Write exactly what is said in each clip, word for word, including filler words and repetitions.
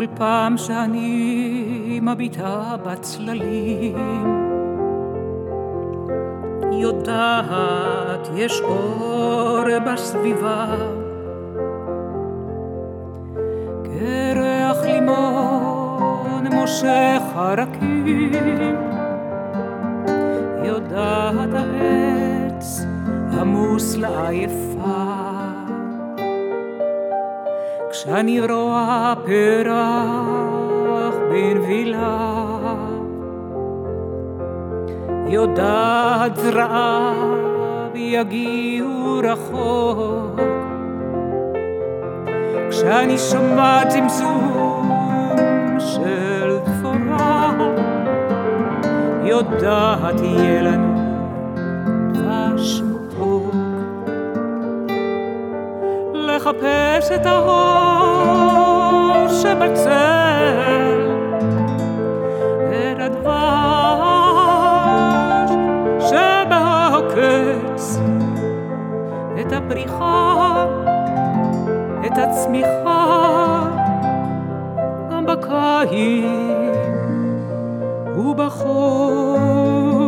פעם שאני מביטה בצללים, יודעת יש אור בסביבה, כריח לימון מושך הרקים, יודעת העץ עמוס לעייפה, כשאני רואה פרח בנבילה, יודעת זרעיו יגיעו רחוק, כשאני שומע צמצום של דבורה, יודעת יהיה לנו דבש מתוק. לחפש את האור שבצל, את הדבש שבעוקץ, את הפריחה, את הצמיחה, גם בקיץ ובחורף.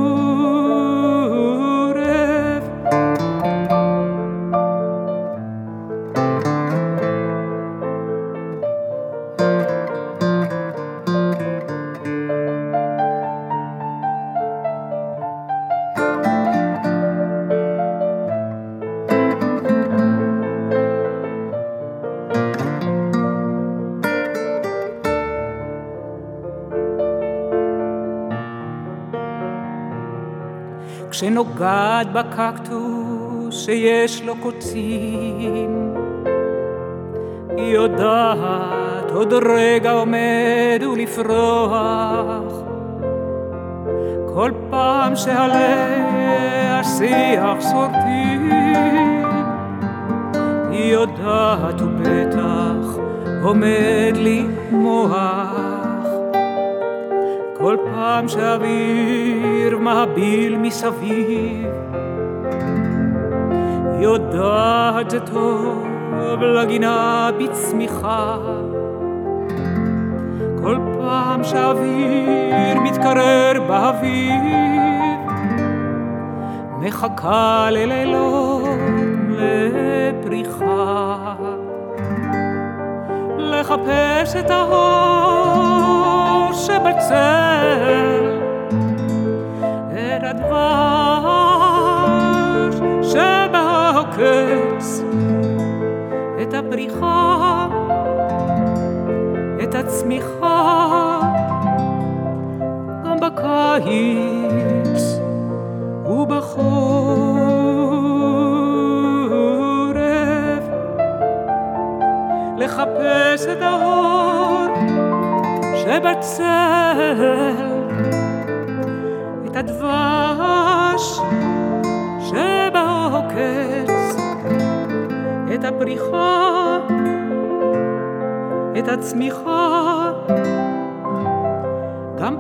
כשנוגעת בקקטוס שיש לו קוצים, היא יודעת עוד רגע עומד ולפרוח, כל פעם שעליה השיח שורטים, היא יודעת ובטח עומד למוח, כל פעם שהאוויר מהביל מסביב, יודעת זה טוב לגינה בצמיחה, כל פעם שהאוויר מתקרר באוויר, מחכה ללילות לפריחה, לחפש את האור שבצל, את הדבש שבעוקץ, את הפריחה, את הצמיחה, גם בקיץ ובחורף. לחפש את האור שבצל, את הדבש שבעוקץ, את הפריחה, את הצמיחה, גם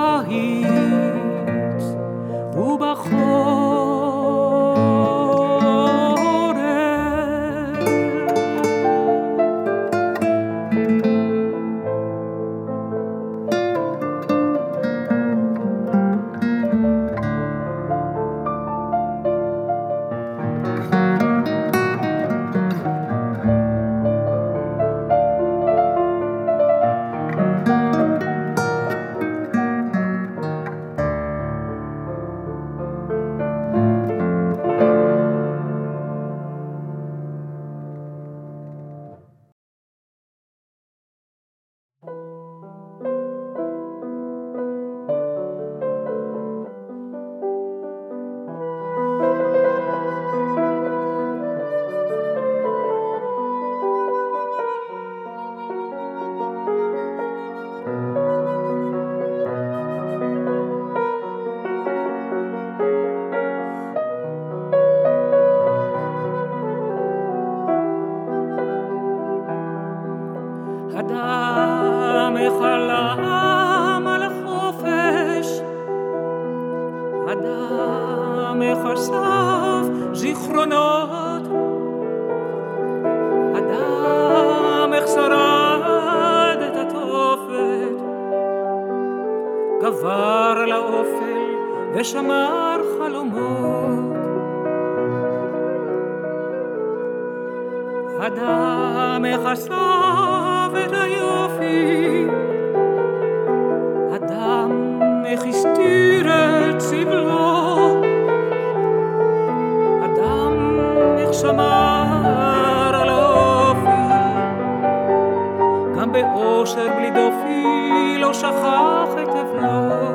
בקיץ ובחורף. אדם חלם על החופש, אדם חשף זיכרונות, אדם שרד את הטוב, עבר לאופל ושמר חלומות. אדם חשף את היופי, אדם הסתיר את סבלו, אדם שמר על האופי, גם באושר בלי דופי לא שכח את אבלו.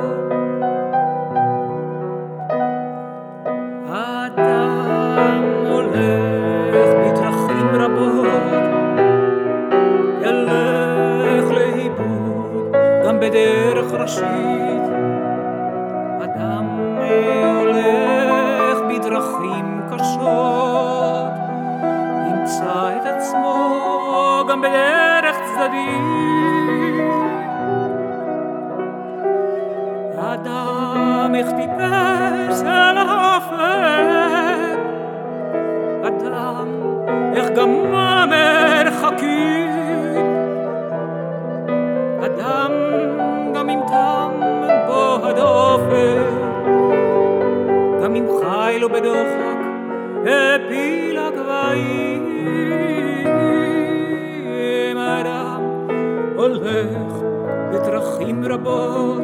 אדם הולך בדרכים רבות, ילך לאיבוד גם בדרך ראשית. אדם הולך בדרכים קשות, ימצא את עצמו גם בדרך צדדית. אדם איך טיפס אל האופק, אדם איך גמה מרחקים, אדם גם אם תם בו הדופק, גם אם חי לו בדוחק הפיל הגבהים. אדם הולך בדרכים רבות,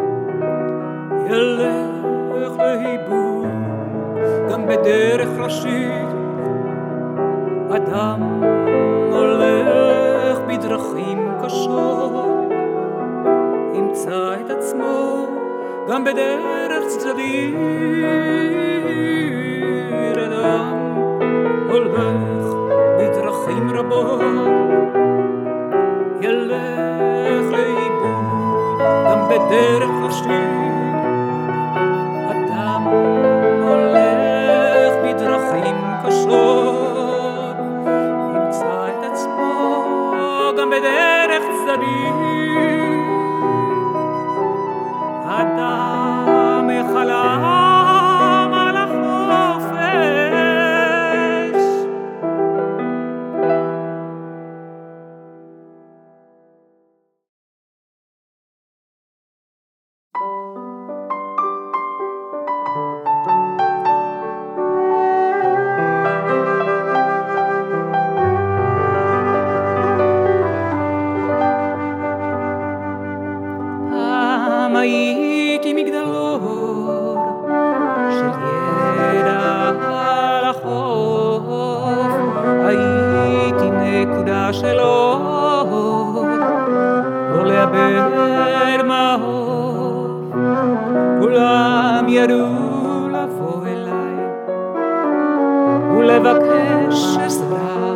ילך לאיבוד גם בדרך ראשית. אדם הולך בדרכים קשות, ימצא את עצמו גם בדרך צדדית. אדם הולך בדרכים רבות, ילך לאיבוד גם בדרך ראשית. אדם הולך בדרכים קשות, ימצא את עצמו גם בדרך צדדית. אדם חלם על החופש, פעם הייתי מגדלור של ידע על החוף, הייתי נקודה של אור, לא לאבד מהאור. כולם ידעו לבוא אליי ולבקש עזרה,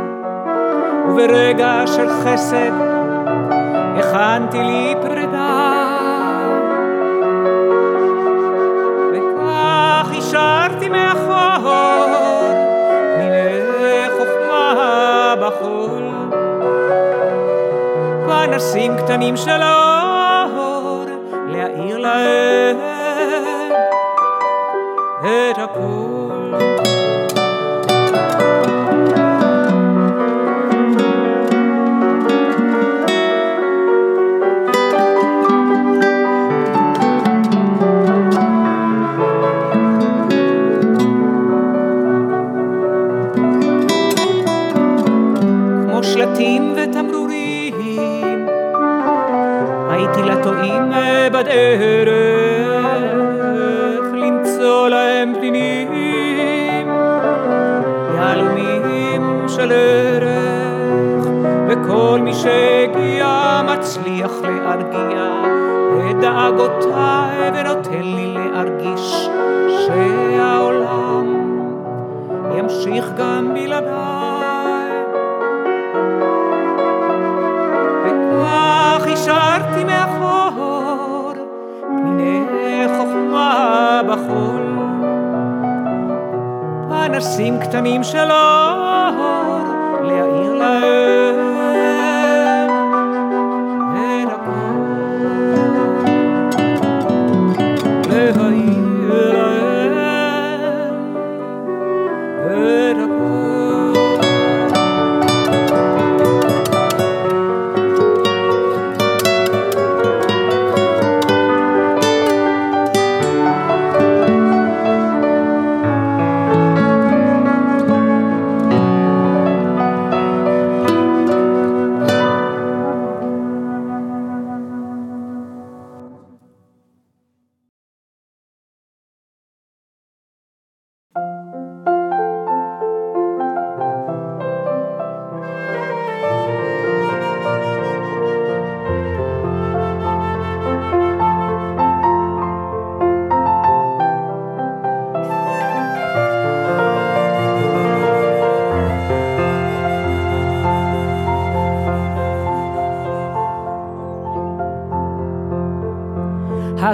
וברגע של חסד הכנתי לי פרידה, וכך השארתי מאחור פניני חוכמה בחול, פנסים קטנים של אור להאיר להם את הכל. שלטים ותמרורים הייתי לטועים בדרך, למצוא להם פנינים יהלומים של ערך, וכל מי שהגיע מצליח להרגיע את דאגותיי ונותן לי להרגיש שהעולם ימשיך גם בלעדיי. וכך השארתי מאחור פניני חוכמה בחול, פנסים קטנים של אור להאיר להם את הכל, להאיר להם את הכל.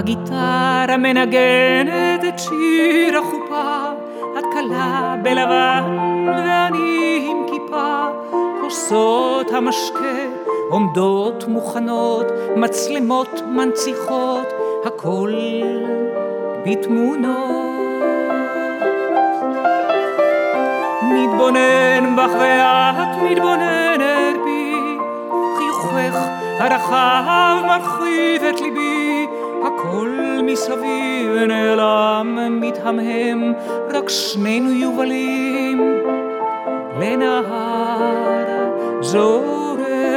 הגיטרה מנגנת את שיר החופה, את קלה בלבן ואני עם כיפה, כוסות המשקה עומדות מוכנות, מצלמות מנציחות, הכל בתמונות. מתבונן בך ואת מתבוננת בי, חיוכך הרחב מרחיב את ליבי, הכל מסביב נעלם מתהמהם, רק שנינו יובלים לנהר זורם.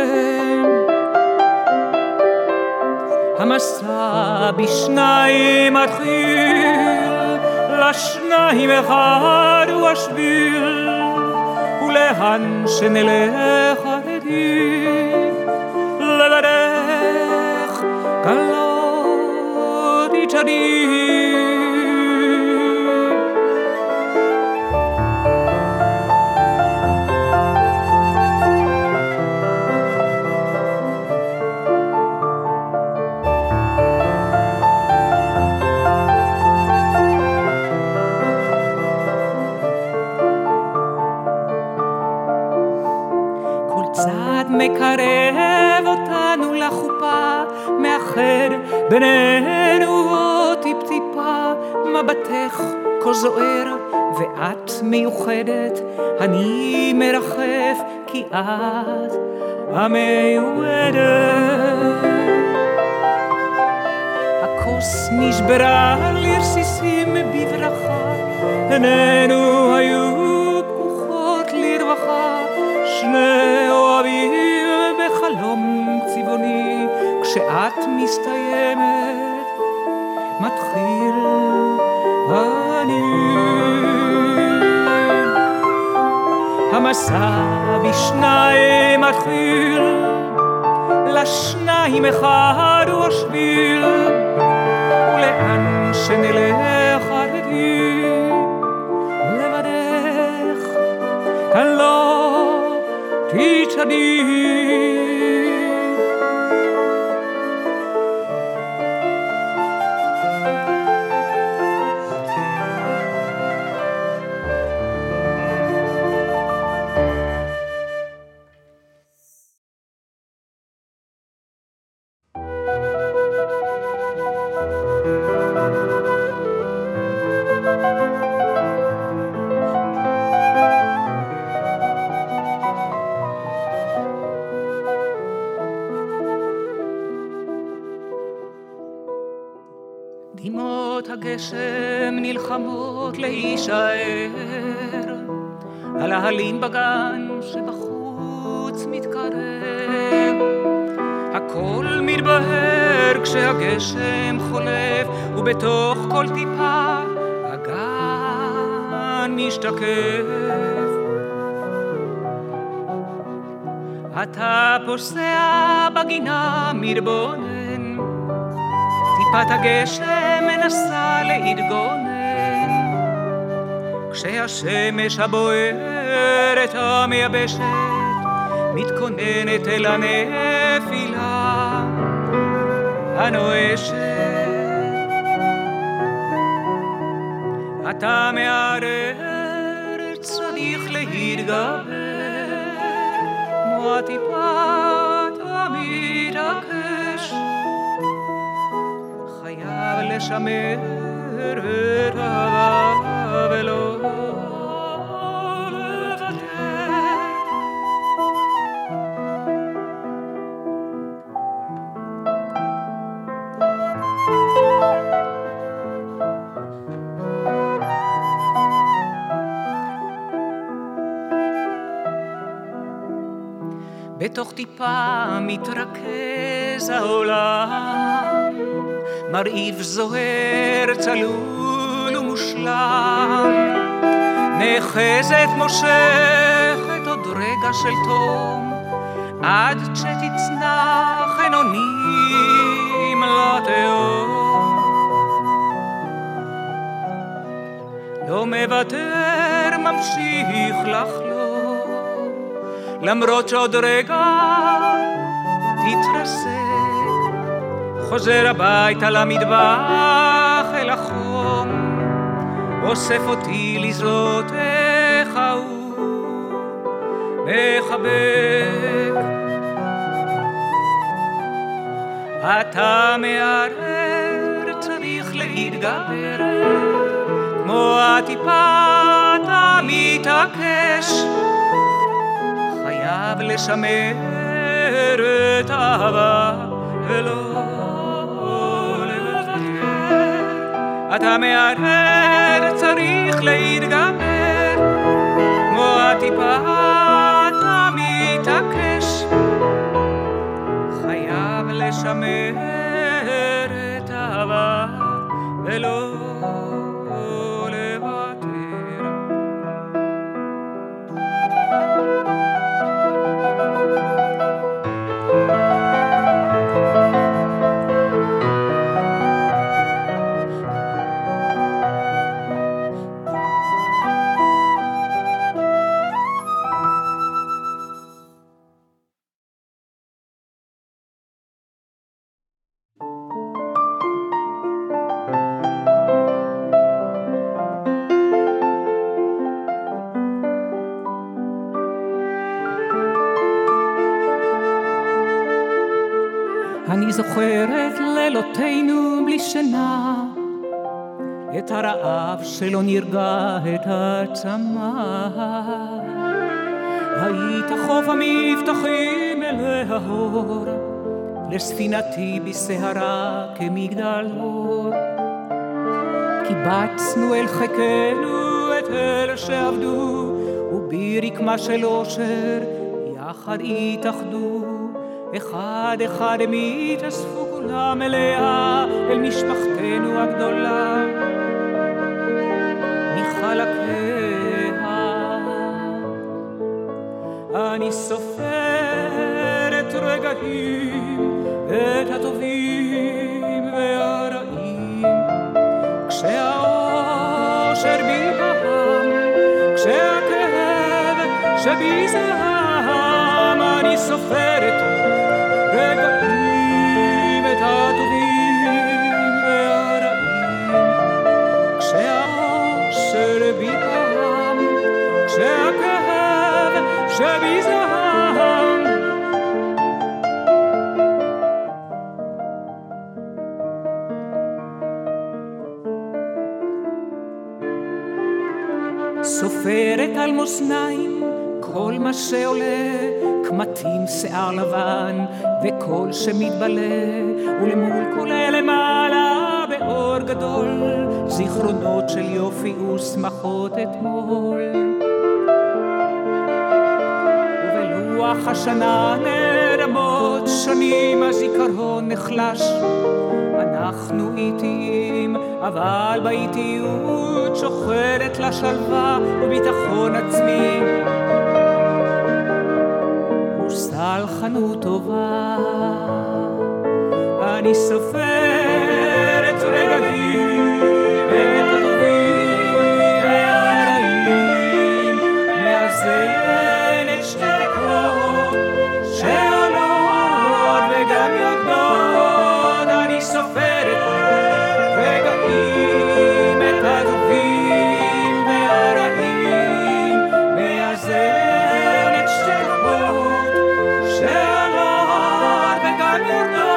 המסע בשניים מתחיל, לשניים אחד הוא השביל, ולאן שנלך עדים לבדך קלות יצ'דים. צעד מקרב אותנו לחופה, מאחד בינינו עוד טיפ-טיפה, מבטך כה זוהר ואת מיוחדת, אני מרחף כי את המיועדת. הכוס נשברה לרסיסים בברכה, עינינו היו פקוחות לרווחה, שני אוהבים בחלום צבעוני, כשאת מסתיימת מתחיל אני. המסע בשניים מתחיל, לשניים אחד הוא השביל, ולאן שנלך עדים לבדך כאן לא תצ'דים. דמעות הגשם נלחמות להישאר, על ההלים בגן שבחוץ מתקרב, הכל מתבהר כשהגשם חולף, ובתוך כל טיפה הגן משתקף. אתה פוסע בגינה מתבונן, טיפת הגשם מנסה להתגונן, כשהשמש הבוערת המייבשת מתכוננת אל הנפילה הנואשת. אתה מערער, צריך להתגבר, כמו הטיפת המתעקש, חייב לשמר את אהבה ולא לוותר. בתוך טיפה מתרכז העולם, מרהיב זוהר צלול ומושלם, נחזת מושכת עוד רגע של תום, עד שתצנח אין אונים לתהום. לא מוותר, ממשיך לחלום, למרות שעוד רגע תתרסק חוזר הביתה למטבח אל החום, אוסף אותי לזרועותיך הוא מחבק. אתה מערער, צריך להתגבר, כמו הטיפה אתה מתעקש, חייב לשמר את האהבה ולא לוותר. אתה מערער, צריך להתגבר, כמו הטיפה אתה מתעקש, חייב לשמר את האהבה ולא לוותר. אני זוכרת לילותינו בלי שינה, את הרעב שלא נרגע, את הצמא. היית חוף המבטחים אל ההור, לספינתי בסהרה כמגדל אור. קיבצנו אל חיקנו את אלה שעבדו, וברקמה של אושר יחד התאחדו. אחד אחד הם התאספו כולם אליה, אל משפחתנו הגדולה מחלקיה. אני סופר את רגעים, את הטובים והרעים, כשהאושר בי בהם, כשהכאב שבי זעם. אני סופרת רגעים, את הטובים והרעים, כשהאושר בי בהם, כשהכאב שבי זעם. סופרת על מאזניים כל מה שעולה, קמטים שיער לבן וקול שמתבלה, ולמול כל אלה מעלה באור גדול, זיכרונות של יופי ושמחות אתמול. ובלוח השנה נרמות שנים, הזיכרון נחלש, אנחנו איטיים, אבל באיטיות שוחרת לה שלווה וביטחון עצמי וסלחנות טובה. אני סופר את רגעים, את הטובים והרעים, מאזן את שתי דקות שעולות וגם יורדות. אני סופרת רגעים, את הטובים והרעים, מאזן את שתי דקות שעולות וגם יורדות.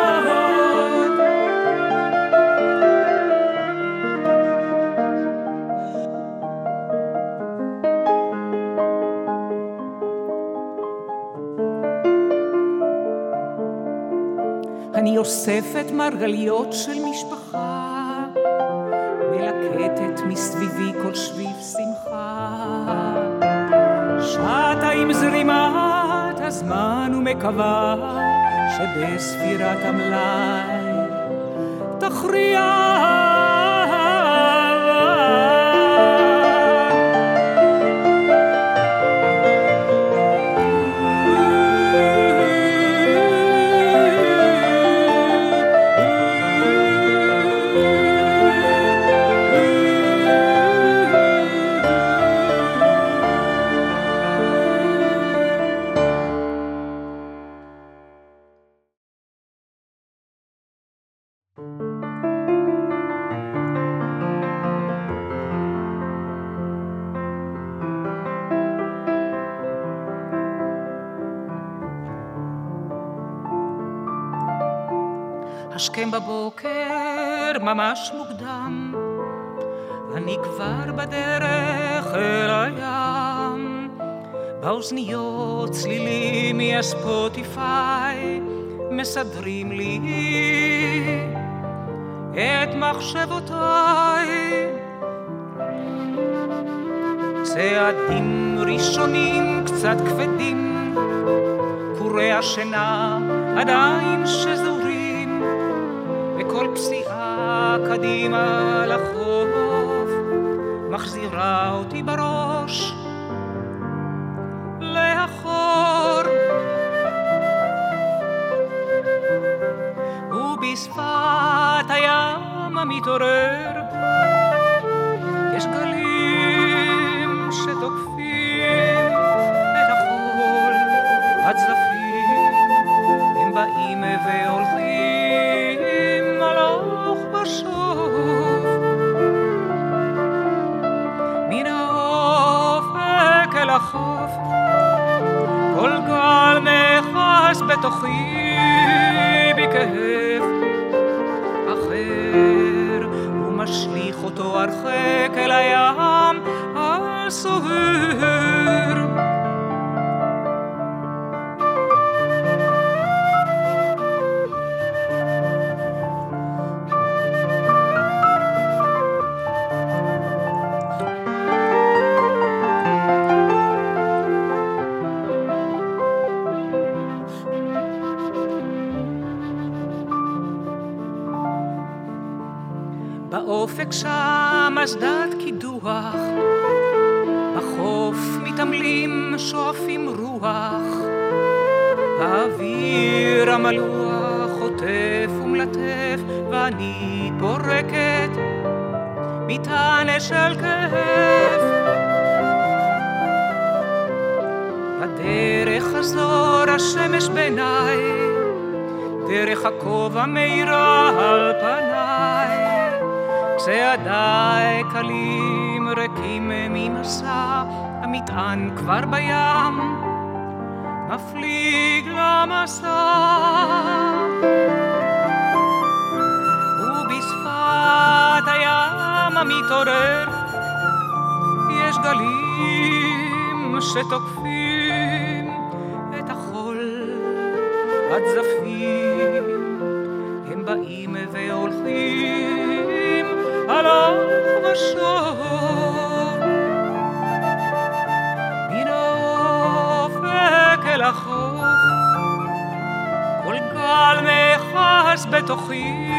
אני אוספת מרגליות של משפחה, מלקטת מסביבי כל שביב שמחה, שטה עם זרימת הזמן ומקווה שבספירת המלאי תכריע השכם בבוקר ממש מוקדם, אני כבר בדרך אל הים, באוזניות צלילים מהספוטיפיי מסדרים לי את מחשבותיי. צעדים ראשונים קצת כבדים, קורי השינה עדיין שזורים, וכל פסיעה קדימה לחוף מחזירה אותי בראש לאחור. ובשפת הים המתעורר יש גלים שתוקפים את החול הצלפים, הם באים והולכים הלוך ושוב מן האופק אל החוף, כל גל נחס בתוכי בכאב אחר ומשליך אותו הרחק אל הים הסוער. באופק שם אסדת קידוח, בחוף מתעמלים שואפים רוח, האוויר המלוח חוטף ומלטף, ואני פורקת מטענה של כיף. בדרך חזור השמש בעיניי, דרך הכובע מאירה על פניי, צעדיי קלים ריקים ממסע, המטען כבר בים מפליג למסע. ובשפת הים המתעורר יש גלים שתוקפים את החול הצלפים, הם באים והולכים הלוך ושוב מן האופק אל החוף, כל גל נחס בתוכי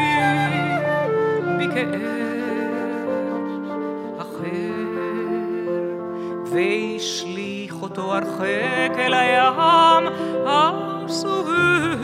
בכאב אחר, והשליך אותו הרחק אל הים הסוער.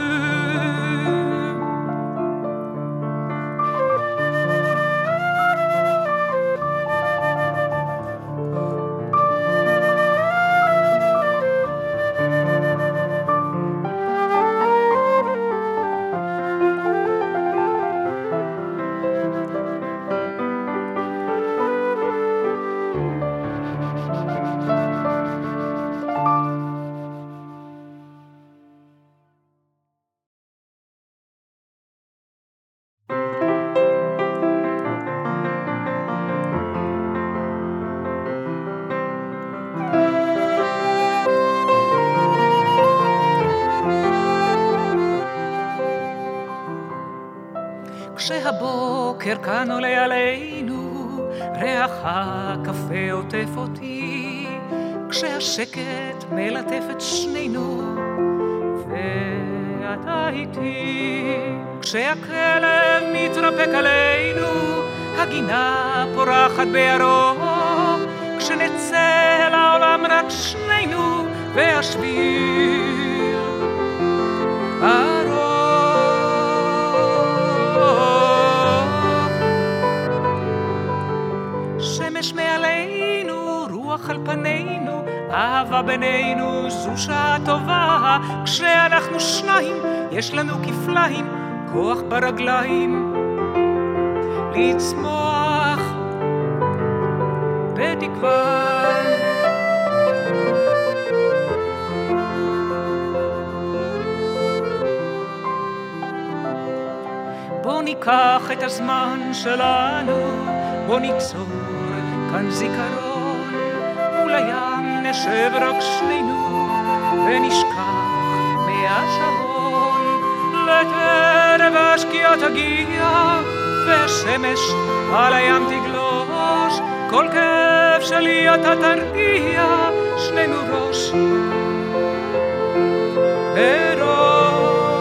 כשהבוקר כאן עולה עלינו, ריח הקפה עוטף אותי, כשהשקט מלטף את שנינו, ואתה איתי, כשהכלב מתרפק עלינו, הגינה פורחת בירוק, כשנצא לעולם רק שנינו, והשביל ארוך. שמש מעלינו, רוח על פנינו, אהבה בינינו, זו שעה טובה. כשאנחנו שניים, יש לנו כפליים, כוח ברגליים, לצמוח בתקווה. ניקח את הזמן שלנו, בוא ניצור כאן זיכרון, מול הים נשב רק שנינו, ונשכח מהשעון. לטרם השקיעה תגיע, והשמש על הים תגלוש, כל כאב שלי אתה תרגיע, שנינו ראש בראש.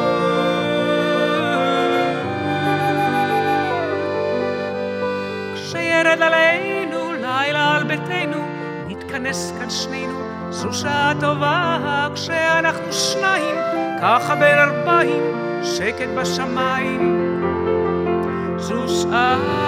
כשירד עלינו לילה על ביתנו, נתכנס כאן שנינו, זו שעה טובה כשאנחנו שניים, ככה בין ארבעים, שקט בשמיים, זו שעה